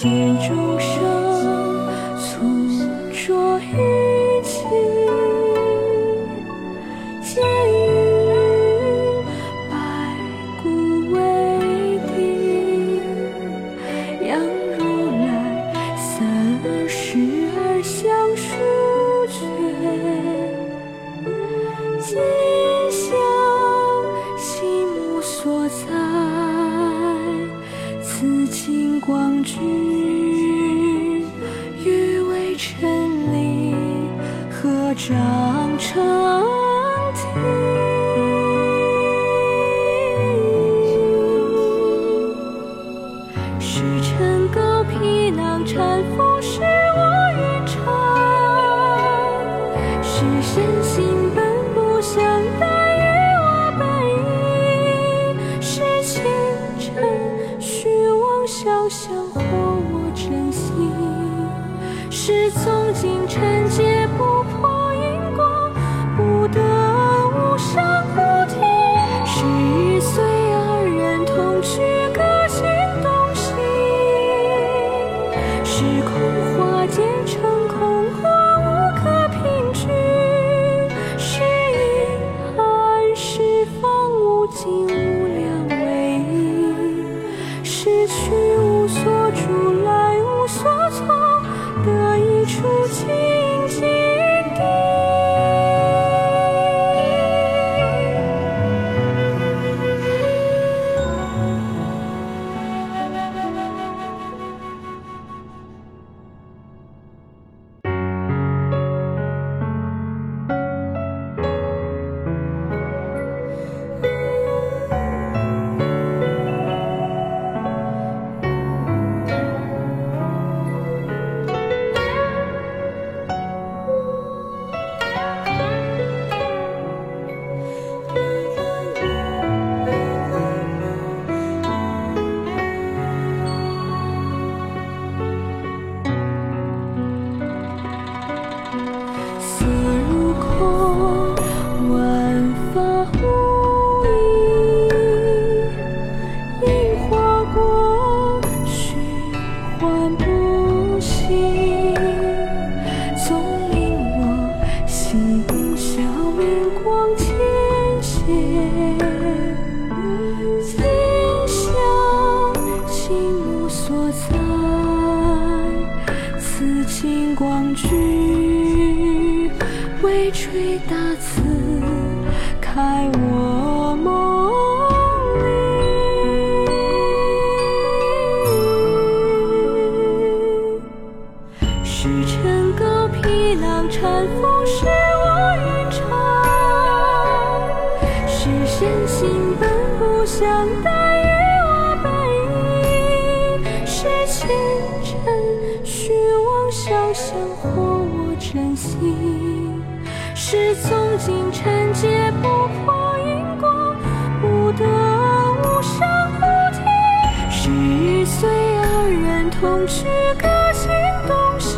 见众生粗浊于情，见于白骨为定，杨如来三世而相书卷，今向心目所在，此金光具，欲为尘里合掌成题。时辰高披囊缠缚是我云长，是身心本不相待于我本意，是前尘虚妄想象惑我真心，是从今尘劫不破因果，不得无上菩提，是随二人同去各行东西，是空化见成空过无可凭据，是因暗是方无尽无量为因，是去无所住来无所从，得一处清净地。色如空，万法无异，因花果，虚幻不息，纵令我心小明光浅显，今向心目所在，此金光具，为垂大慈，开我梦里。时辰高披囊缠缚是我云长，是身心本不相待于我本意，是前尘虚妄想象惑我真心，是从今尘劫不破因果，不得无上菩提，是随二人同去各行东西，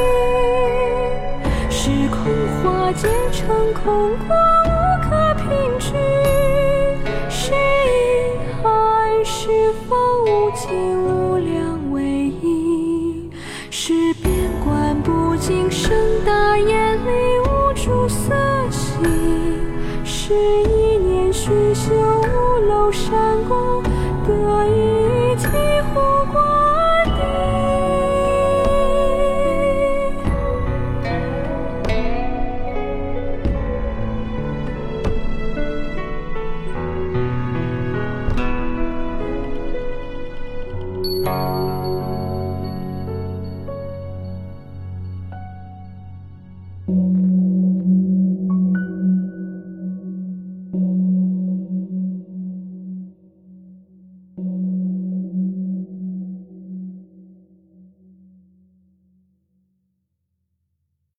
是空化见成空过无可凭据，是因暗是方无尽无量为因，是边观不净盛大眼里无诸色心，是一念虚修无漏闪光，得一体护光。